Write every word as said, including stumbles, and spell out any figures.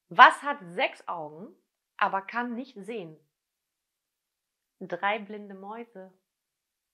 Was hat sechs Augen, aber kann nicht sehen? Drei blinde Mäuse.